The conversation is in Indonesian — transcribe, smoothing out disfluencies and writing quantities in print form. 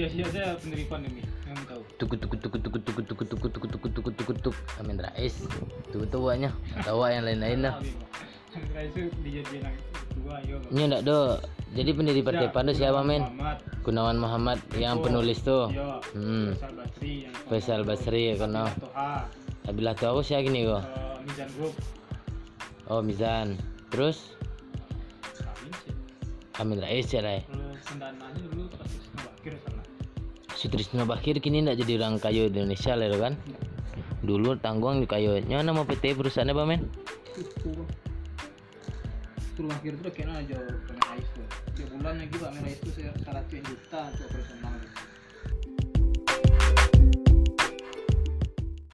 sia-sia saya penerimaan ini yang tahu. Tuk Amin Rais tuh tuanya tahu yang lain-lain dah. Amin Rais itu dijadiin yang kedua yo. Ini enggak do. Jadi pendiri Partai PAN itu siapa men? Gunawan Muhammad yang penulis tuh. Faisal Basri yang Faisal Basri ya kono. Toha. Abilah tuh aku sih gini kok. Mizan Group. Oh Mizan. Terus Amin sih. Amin Rais ya lah. Terus pendananya dulu pas Bakir sana. Sutrisno Bakir kini enggak jadi orang kayu di Indonesia lah kan? Dulu tanggung di kayunya nama PT perusahaannya apa men? Itu Bakir itu kena aja Amin Rais tuh. Tiap bulannya gitu Amin Rais itu 100 juta untuk operasional gitu.